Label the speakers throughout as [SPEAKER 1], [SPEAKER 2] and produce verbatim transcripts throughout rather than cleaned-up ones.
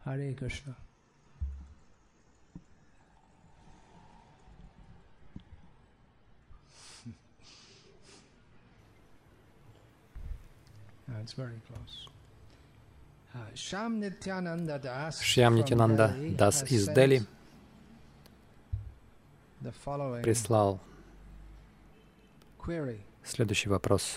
[SPEAKER 1] Hare Krishna. It's very close. Shyam Nityananda Das
[SPEAKER 2] Шьям Нитянанда Дас из Дели прислал следующий вопрос.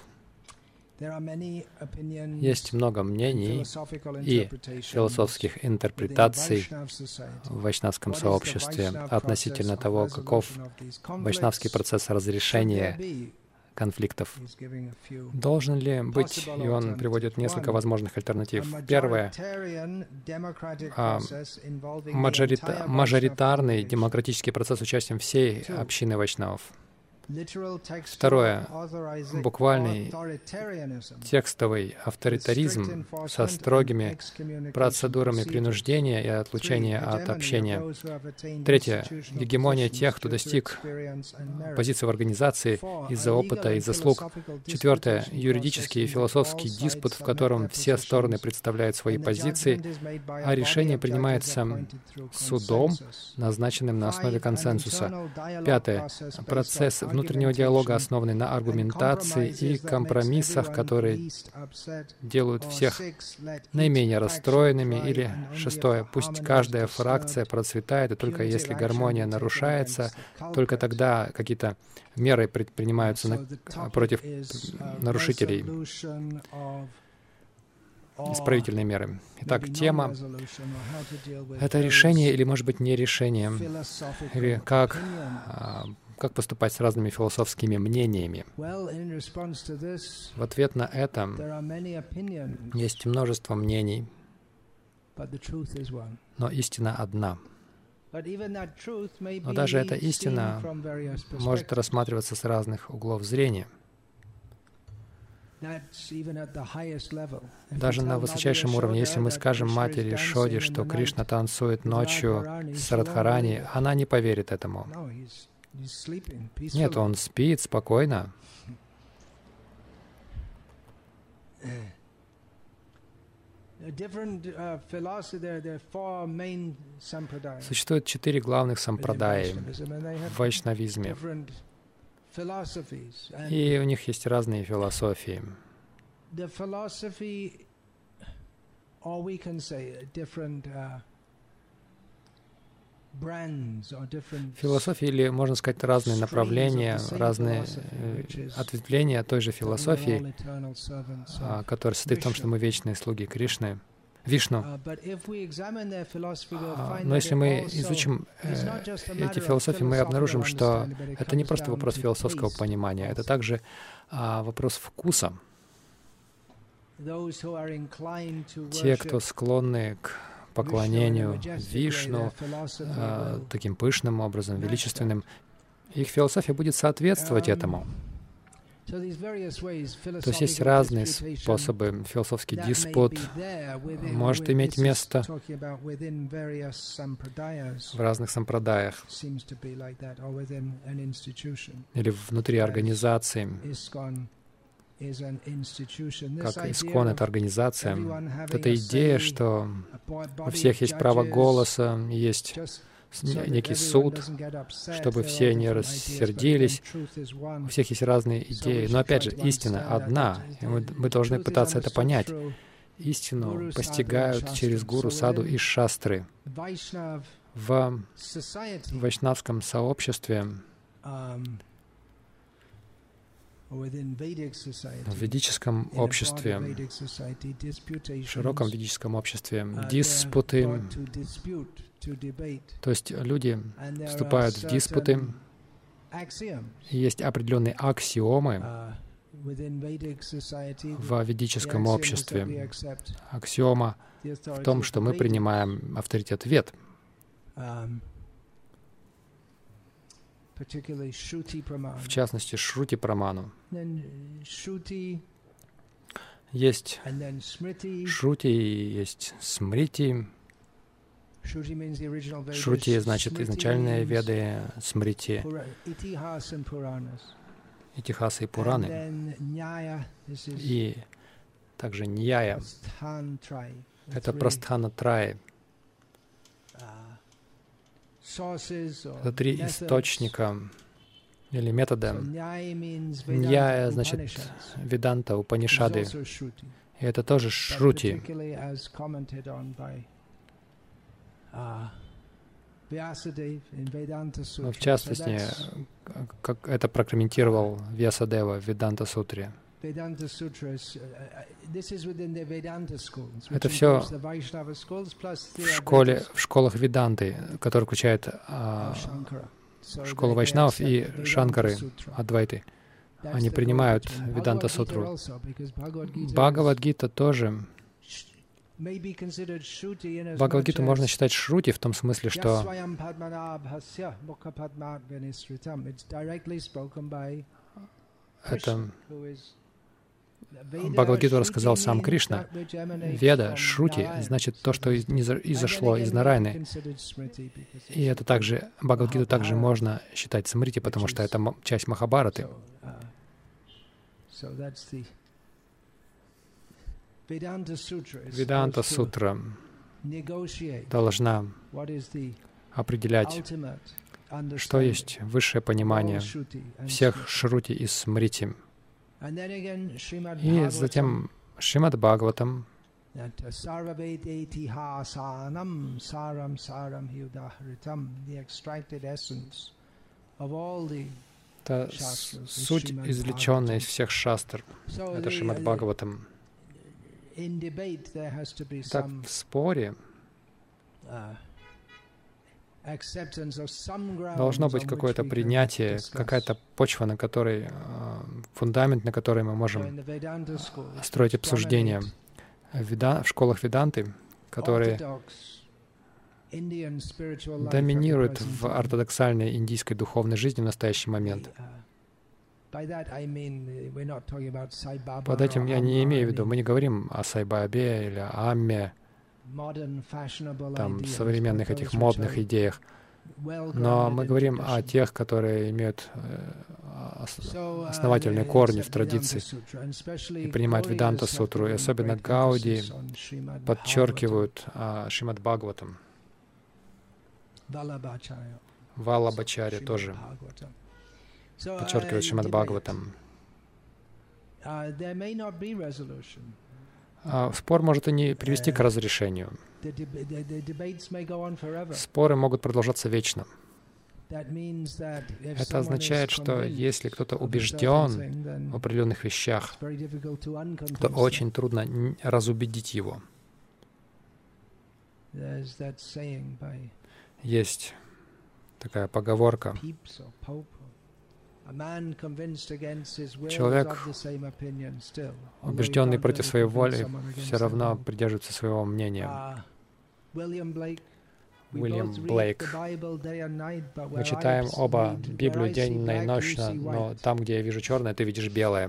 [SPEAKER 2] Есть много мнений и философских интерпретаций в вайшнавском сообществе относительно того, каков вайшнавский процесс разрешения конфликтов. Должен ли быть, и он приводит несколько возможных альтернатив. Первое, а, мажорита, мажоритарный демократический процесс с участием всей общины вайшнавов. Второе, буквальный текстовый авторитаризм со строгими процедурами принуждения и отлучения от общения. Третье, гегемония тех, кто достиг позиции в организации из-за опыта и заслуг. Четвертое, юридический и философский диспут, в котором все стороны представляют свои позиции, а решение принимается судом, назначенным на основе консенсуса. Пятое, процесс внутреннего диалога, основанный на аргументации и компромиссах, которые делают всех наименее расстроенными. Или шестое, пусть каждая фракция процветает, и только если гармония нарушается, только тогда какие-то меры предпринимаются на, против нарушителей. Исправительные меры. Итак, тема — это решение или, может быть, не решение, или как Как поступать с разными философскими мнениями? В ответ на это есть множество мнений, но истина одна. Но даже эта истина может рассматриваться с разных углов зрения. Даже на высочайшем уровне, если мы скажем матери Шоде, что Кришна танцует ночью с Радхарани, она не поверит этому. Нет, он спит спокойно. Существует четыре главных сампрадаи в вайшнавизме, и у них есть разные философии. Философии, или, можно сказать, разные направления, разные э, ответвления той же философии, а, которая состоит в том, что мы вечные слуги Кришны, Вишну. А, но если мы изучим э, эти философии, мы обнаружим, что это не просто вопрос философского понимания, это также а, вопрос вкуса. Те, кто склонны к поклонению Вишну э, таким пышным образом, величественным, их философия будет соответствовать этому. То есть есть разные способы. Философский диспут может иметь место в разных сампрадаях или внутри организации. Как Искон — это организация. Это идея, что у всех есть право голоса, есть некий суд, чтобы все не рассердились. У всех есть разные идеи. Но опять же, истина одна, и мы, мы должны пытаться это понять. Истину постигают через гуру, саду и шастры. В вайшнавском сообществе, в ведическом обществе, в широком ведическом обществе, диспуты, то есть люди вступают в диспуты, и есть определенные аксиомы в ведическом обществе. Аксиома в том, что мы принимаем авторитет Вед. В частности, Шрути-праману. Есть Шрути и есть Смрити. Шрути значит изначальные Веды, Смрити — Итихасы и Пураны. И также Ньяя — это Прастхана Траи. Это три источника или метода. Ньяя значит Веданта, Упанишады. И это тоже Шрути. Но в частности, как это прокомментировал Вьясадева в Веданта-сутре. Это все в школе, в школах Веданты, которые включают а, школу Вайшнавов и Шанкары, Адвайты. Они принимают Веданта-сутру. Бхагавад-гита тоже. Бхагавад-гиту можно считать Шрути в том смысле, что это Бхагавад-гиту рассказал сам Кришна. Веда, Шрути, значит то, что изошло из Нарайны. И это также, Бхагавад-гиту также можно считать Смрити, потому что это часть Махабхараты. Веданта-сутра должна определять, что есть высшее понимание всех Шрути и Смрити. И затем Шримад Бхагаватам, это суть, извлеченная из всех шастр. Это Шримад Бхагаватам. Так, в споре должно быть какое-то принятие, какая-то почва, на которой, фундамент, на которой мы можем строить обсуждения. В школах Веданты, которые доминируют в ортодоксальной индийской духовной жизни в настоящий момент. Под этим я не имею в виду, мы не говорим о Сай-Бабе или о Амме, там, современных этих модных идеях, но мы говорим о тех, которые имеют основательные корни в традиции и принимают Веданта-сутру, и особенно Гауди подчеркивают Шримад Бхагаватам. Валлабхачарья тоже подчеркивает Шримад Бхагаватам. Спор может и не привести к разрешению. Споры могут продолжаться вечно. Это означает, что если кто-то убежден в определенных вещах, то очень трудно разубедить его. Есть такая поговорка. Человек, убежденный против своей воли, все равно придерживается своего мнения. Уильям Блейк. Мы читаем оба Библию день и ночь, но там, где я вижу черное, ты видишь белое.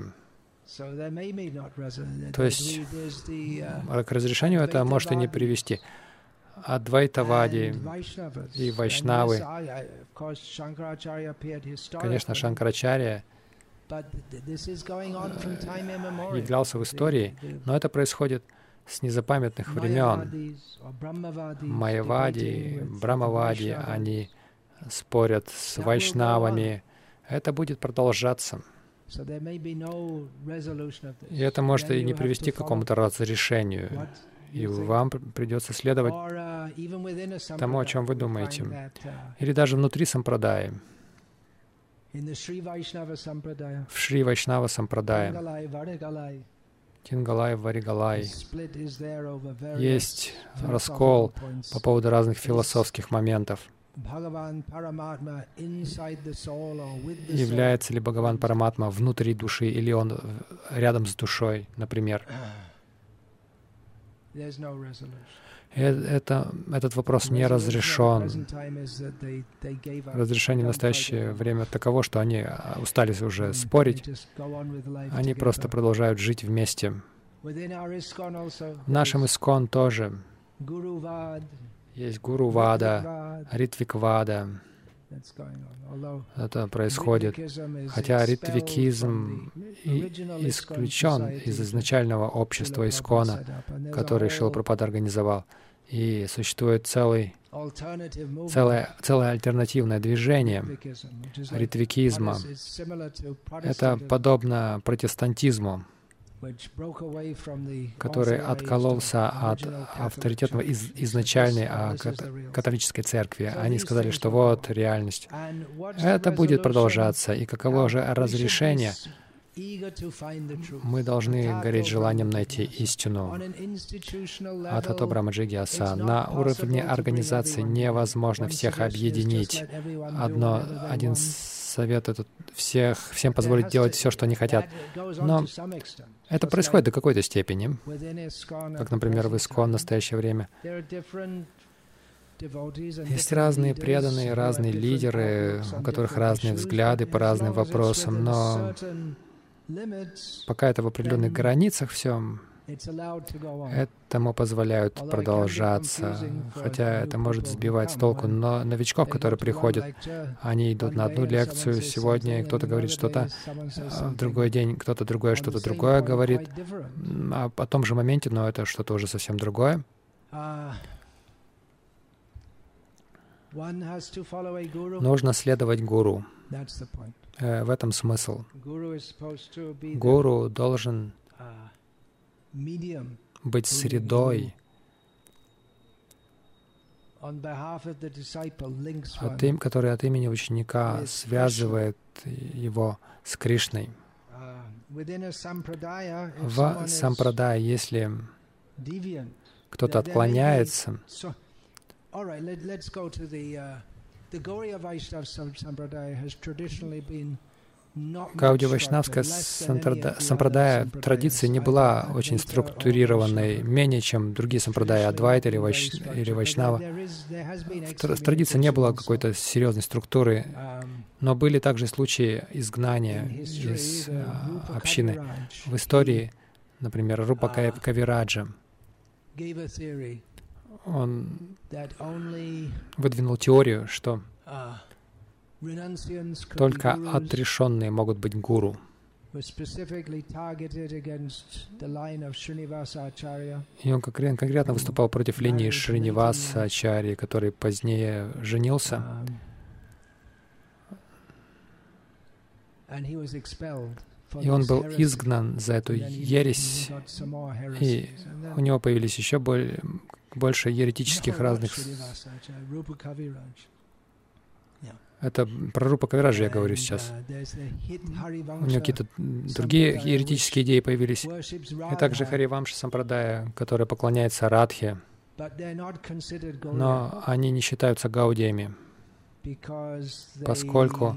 [SPEAKER 2] То есть к разрешению это может и не привести. Адвайтавади и Вайшнавы, конечно, Шанкарачарья являлся в истории, но это происходит с незапамятных времен. Майявади, Брамавади, они спорят с Вайшнавами. Это будет продолжаться. И это может и не привести к какому-то разрешению. И вам придется следовать тому, о чем вы думаете. Или даже внутри сампрадаи. В Шри Вайшнава сампрадае, Тингалай, Варигалай, есть раскол по поводу разных философских моментов. Является ли Бхагаван Параматма внутри души, или он рядом с душой, например. Это, этот вопрос не разрешен. Разрешение в настоящее время таково, что они устали уже спорить. Они просто продолжают жить вместе. В нашем Искон тоже есть Гуру Вада, Ритвик Вада. Это происходит. Хотя ритвикизм исключен из изначального общества Искона, который Шрила Прабхупада организовал. И существует целый, целое, целое альтернативное движение ритвикизма. Это подобно протестантизму, который откололся от авторитетного из, изначальной католической церкви. Они сказали, что вот реальность. Это будет продолжаться. И каково же разрешение? Мы должны гореть желанием найти истину. Атхато Брахмаджигьяса. На уровне организации невозможно всех объединить. Одно, один совет — это всех, всем позволить делать все, что они хотят. Но это происходит до какой-то степени, как, например, в Искон в настоящее время. Есть разные преданные, разные лидеры, у которых разные взгляды по разным вопросам, но пока это в определенных границах все, этому позволяют продолжаться, хотя это может сбивать с толку. Но новичков, которые приходят, они идут на одну лекцию сегодня, и кто-то говорит что-то, а в другой день кто-то другое что-то другое говорит, а о том же моменте, но это что-то уже совсем другое. Нужно следовать гуру. В этом смысл. Гуру должен быть средой, от им, который от имени ученика связывает его с Кришной. В сампрадае, если кто-то отклоняется, Гаудия-вайшнавская сампрадая традиция не была очень структурированной, менее чем другие сампрадаи, Адвайта или, вайш... или Вайшнава. В традиции не было какой-то серьезной структуры, но были также случаи изгнания из общины. В истории, например, Рупа Кавираджа, он выдвинул теорию, что только отрешенные могут быть гуру. И он конкретно выступал против линии Шриниваса Ачарьи, который позднее женился. И он был изгнан за эту ересь, и у него появились еще более, больше еретических разных... Это про Рупа Кавираджа я говорю сейчас. У него какие-то другие еретические идеи появились. И также Харивамша Сампрадая, которая поклоняется Радхе, но они не считаются гаудиями, поскольку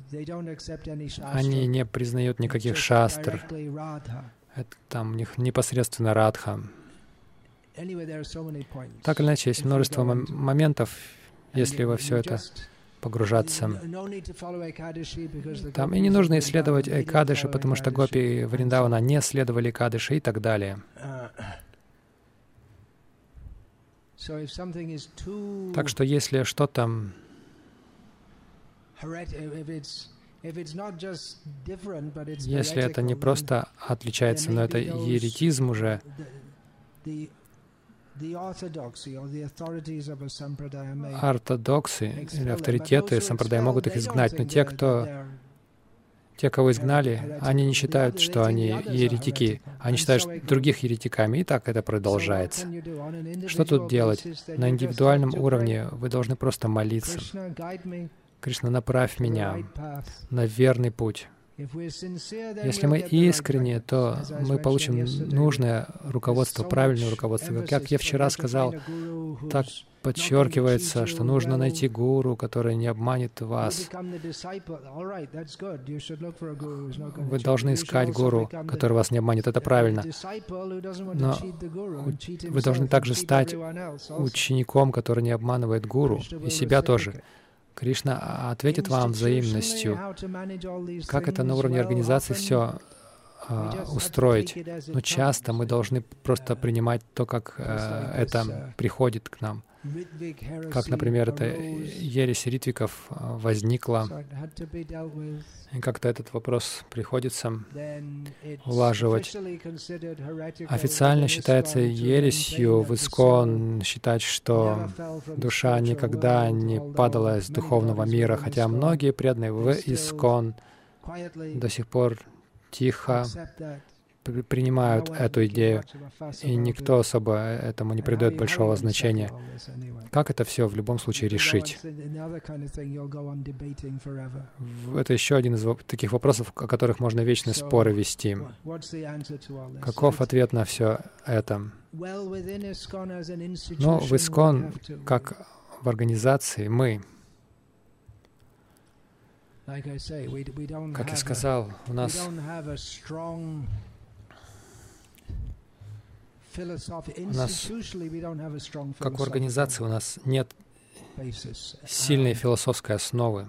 [SPEAKER 2] они не признают никаких шастр. Это там у них непосредственно Радха. Так или иначе, есть множество мом- моментов, если во все это погружаться. Там и не нужно исследовать Экадыши, потому что гопи Вриндавана не следовали Экадыши и так далее. Так что если что-то Если это не просто отличается, но это еретизм уже, ортодоксы или авторитеты сампрадая могут их изгнать, но те, кто, те, кого изгнали, они не считают, что они еретики. Они считают других еретиками, и так это продолжается. Что тут делать? На индивидуальном уровне вы должны просто молиться. Кришна, направь меня на верный путь. Если мы искренне, то мы получим нужное руководство, правильное руководство. Как я вчера сказал, так подчеркивается, что нужно найти гуру, который не обманет вас. Вы должны искать гуру, который вас не обманет. Это правильно. Но вы должны также стать учеником, который не обманывает гуру, и себя тоже. Кришна ответит вам взаимностью. Как это на уровне организации все а, устроить. Но часто мы должны просто принимать то, как а, это приходит к нам. Как, например, эта ересь ритвиков возникла, и как-то этот вопрос приходится улаживать. Официально считается ересью в ИСККОН считать, что душа никогда не падала из духовного мира, хотя многие преданные в ИСККОН до сих пор тихо принимают эту идею, и никто особо этому не придает большого значения. Как это все в любом случае решить? Это еще один из таких вопросов, о которых можно вечные споры вести. Каков ответ на все это? Ну, в ИСККОН, как в организации, мы, как я сказал, у нас У нас, как в организации, у нас нет сильной философской основы.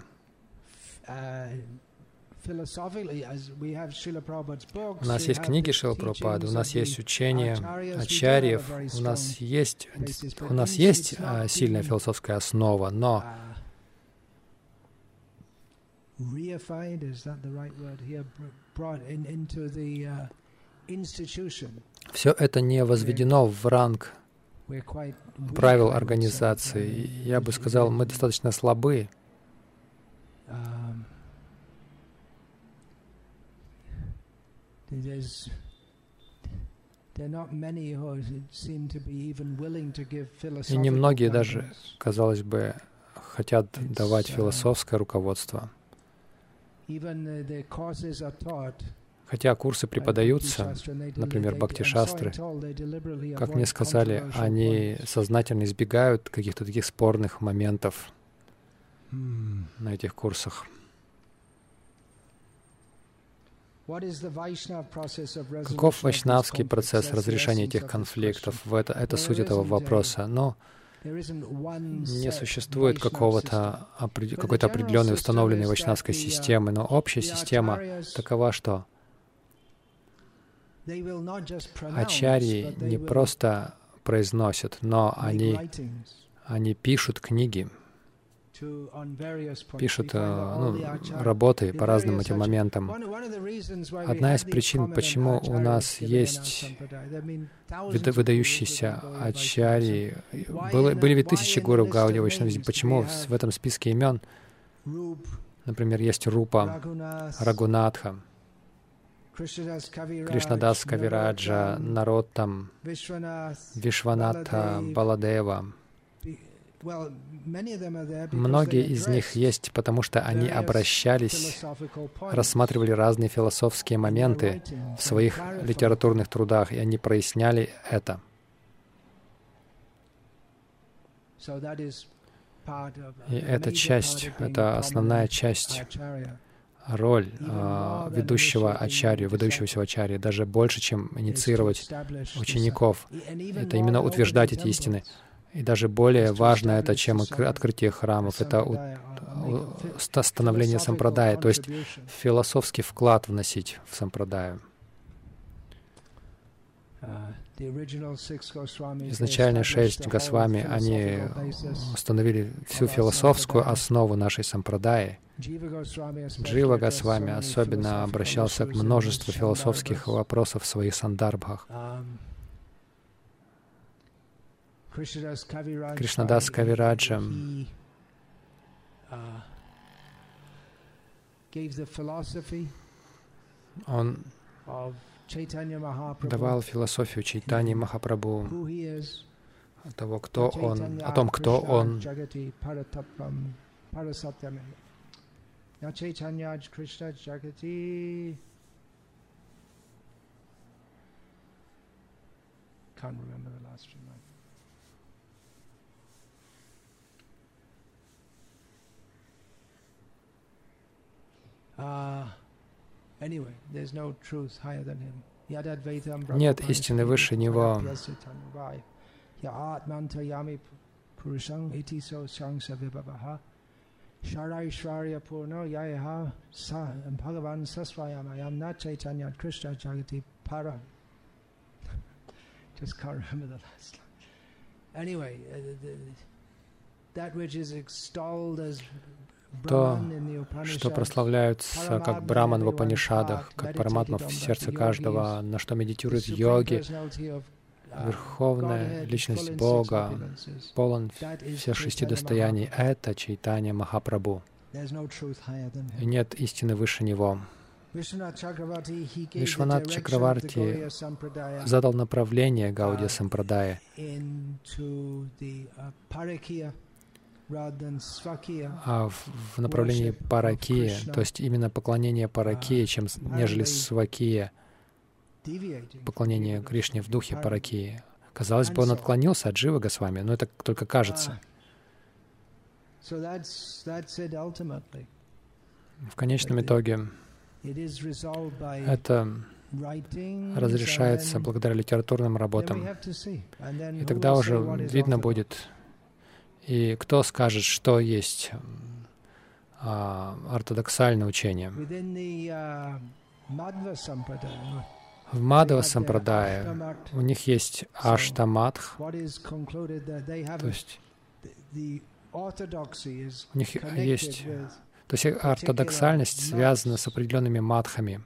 [SPEAKER 2] У нас есть книги Шрилы Прабхупады, у нас есть учения ачарьев, у нас есть, у нас есть а, сильная философская основа, но все это не возведено в ранг правил организации. Я бы сказал, мы достаточно слабы. И немногие даже, казалось бы, хотят давать философское руководство. Хотя курсы преподаются, например, бхакти-шастры, как мне сказали, они сознательно избегают каких-то таких спорных моментов на этих курсах. Каков вайшнавский процесс разрешения этих конфликтов? Это, это суть этого вопроса. Но не существует какого-то, какой-то определенной установленной вайшнавской системы, но общая система такова, что ачарьи не просто произносят, но они, они пишут книги, пишут ну, работы по разным этим моментам. Одна из причин, почему у нас есть выдающиеся ачарьи, были, были ведь тысячи гуру в Гаудия Вайшнавизме, почему в этом списке имен, например, есть Рупа, Рагунатха, Кришнадас Кавираджа, Нароттам, Вишванатха, Баладева. Многие из них есть, потому что они обращались, рассматривали разные философские моменты в своих литературных трудах, и они проясняли это. И эта часть, это основная часть, роль э, ведущего ачарью, выдающегося ачарьи, даже больше, чем инициировать учеников. Это именно утверждать эти истины. И даже более важно это, чем открытие храмов, это у, у, становление сампрадая, то есть философский вклад вносить в сампрадаю. Изначально шесть Госвами, они установили всю философскую основу нашей сампрадаи. Джива Госвами особенно обращался к множеству философских вопросов в своих сандарбхах. Кришнадас Кавираджа он давал философию Чайтаньи Махапрабху, того, кто он, о том, кто он. Нет истины выше него.
[SPEAKER 1] Sharaishvarya Purno Yayaha Sa Bhagavan Sasvayamayam Na Chaitanya Krishna Jagati Param. Just can't remember the last line. Anyway, uh, the, that which is extolled as
[SPEAKER 2] то, что прославляются как Браман в Упанишадах, как Параматма в сердце каждого, на что медитируют йоги, Верховная Личность Бога, полон всех шести достояний, это Чайтанья Махапрабху. И нет истины выше него. Вишванат Чакраварти задал направление Гаудия Сампрадая а в, в направлении Паракия, то есть именно поклонение Паракия, чем нежели Свакия, поклонение Кришне в духе Паракии. Казалось бы, он отклонился от Дживы Госвами, но это только кажется. В конечном итоге это разрешается благодаря литературным работам. И тогда уже видно будет, и кто скажет, что есть а, ортодоксальное учение. В Мадхава Сампрадае у них есть Аштамадх, то есть у них есть, то есть ортодоксальность связана с определенными мадхами,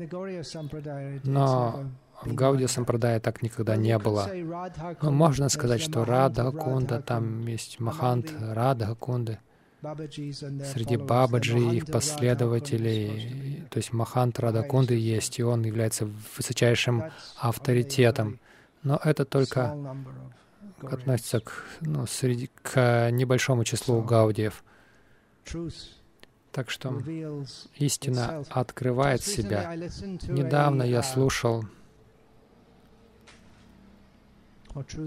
[SPEAKER 2] но в Гаудия Сампрадае так никогда не было. Но можно сказать, что Радха Кунда, там есть Махант Радха Кунды, среди Бабаджи и их последователей, то есть Махант Радха Кунды есть, и он является высочайшим авторитетом. Но это только относится к, ну, среди, к небольшому числу гаудиев. Так что истина открывает себя. Недавно я слушал То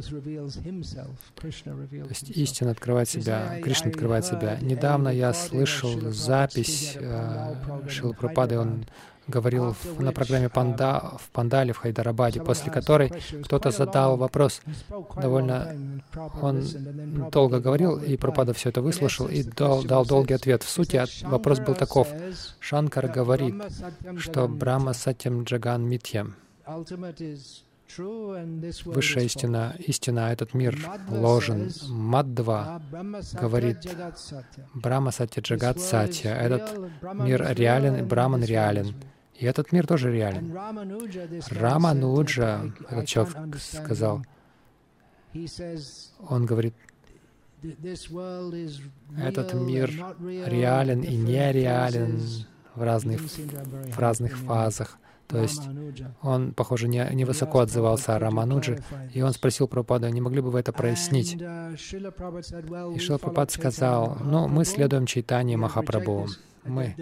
[SPEAKER 2] есть истина открывает себя, Кришна открывает себя. Недавно я слышал запись э, Шрилы Прабхупады, он говорил в, на программе Панда, в Пандале в Хайдарабаде, после которой кто-то задал вопрос. Довольно он долго говорил, и Прабхупада все это выслушал и дал, дал долгий ответ. В сути, вопрос был таков. Шанкар говорит, что Брахма Сатьям Джаган Митьям. Высшая истина, истина, этот мир ложен. Мадхва говорит, Брахма Сатья Джагат Сатья. Этот мир реален, и Браман реален. И этот мир тоже реален. Рамануджа, этот человек сказал, он говорит, этот мир реален и нереален в разных, в разных фазах. То есть он, похоже, не, не высоко отзывался о Рамануджи, и он спросил Прабхупаду, не могли бы вы это прояснить? И Шрила Прабхупад сказал, ну, мы следуем Чайтанье Махапрабху. Мы.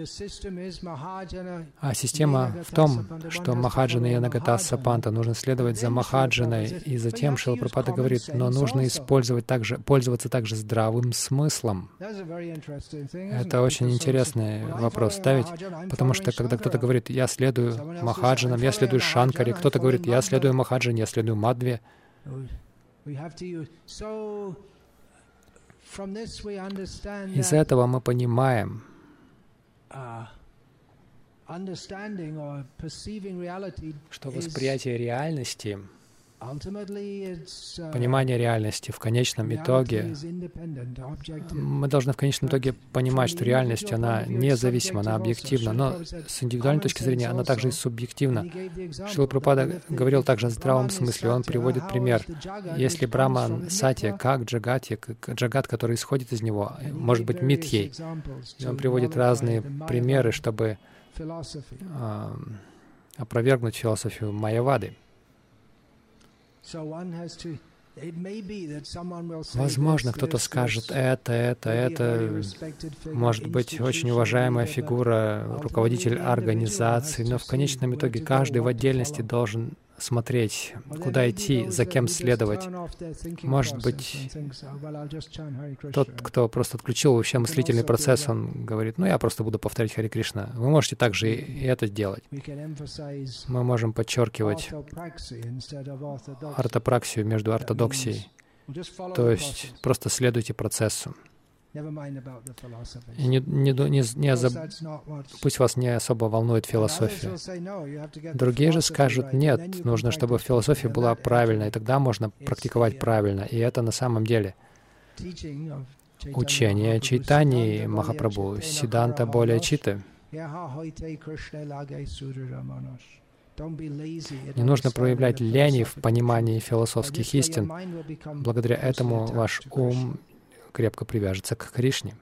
[SPEAKER 2] А система в том, что Махаджана и Янагата Панта нужно следовать за Махаджаной, и затем Шрила Прабхупада говорит, но нужно использовать также, пользоваться также здравым смыслом. Это очень интересный вопрос ставить, потому что когда кто-то говорит, я следую Махаджанам, я следую Шанкаре, кто-то говорит, я следую Махаджане, я следую Мадхве. Из этого мы понимаем, что восприятие реальности, понимание реальности в конечном итоге, мы должны в конечном итоге понимать, что реальность, она независима, она объективна, но с индивидуальной точки зрения она также и субъективна. Шрила Прабхупада говорил также о здравом смысле, он приводит пример. Если Браман Сатья, как Джагати, как Джагат, который исходит из него, может быть митьей. И он приводит разные примеры, чтобы э, опровергнуть философию Майявады. Возможно, кто-то скажет, это, это, это, может быть, очень уважаемая фигура, руководитель организации, но в конечном итоге каждый в отдельности должен смотреть, куда идти, за кем следовать. Может быть, тот, кто просто отключил вообще мыслительный процесс, он говорит, ну, я просто буду повторять Харе Кришна. Вы можете также и это делать. Мы можем подчеркивать ортопраксию между ортодоксией, то есть просто следуйте процессу. И не, не, не, не озаб... пусть вас не особо волнует философия. Другие же скажут, нет, нужно, чтобы философия была правильной, и тогда можно практиковать правильно. И это на самом деле учение Чайтаньи Махапрабху, Сиддханта более Читы. Не нужно проявлять лени в понимании философских истин. Благодаря этому ваш ум крепко привяжется к Кришне.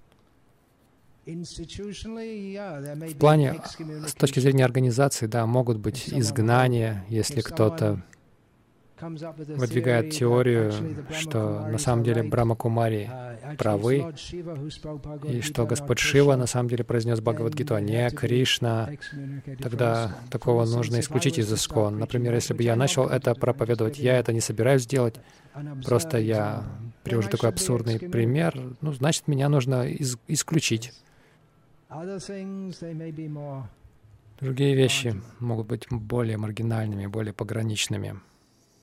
[SPEAKER 2] В плане, с точки зрения организации, да, могут быть изгнания, если кто-то выдвигает теорию, что на самом деле Брахма-кумари правы, и что Господь Шива на самом деле произнес Бхагавад-гиту, а не Кришна, тогда такого нужно исключить из ИСККОН. Например, если бы я начал это проповедовать, я это не собираюсь делать, просто я привожу такой абсурдный пример, ну, значит, меня нужно из- исключить. Другие вещи могут быть более маргинальными, более пограничными.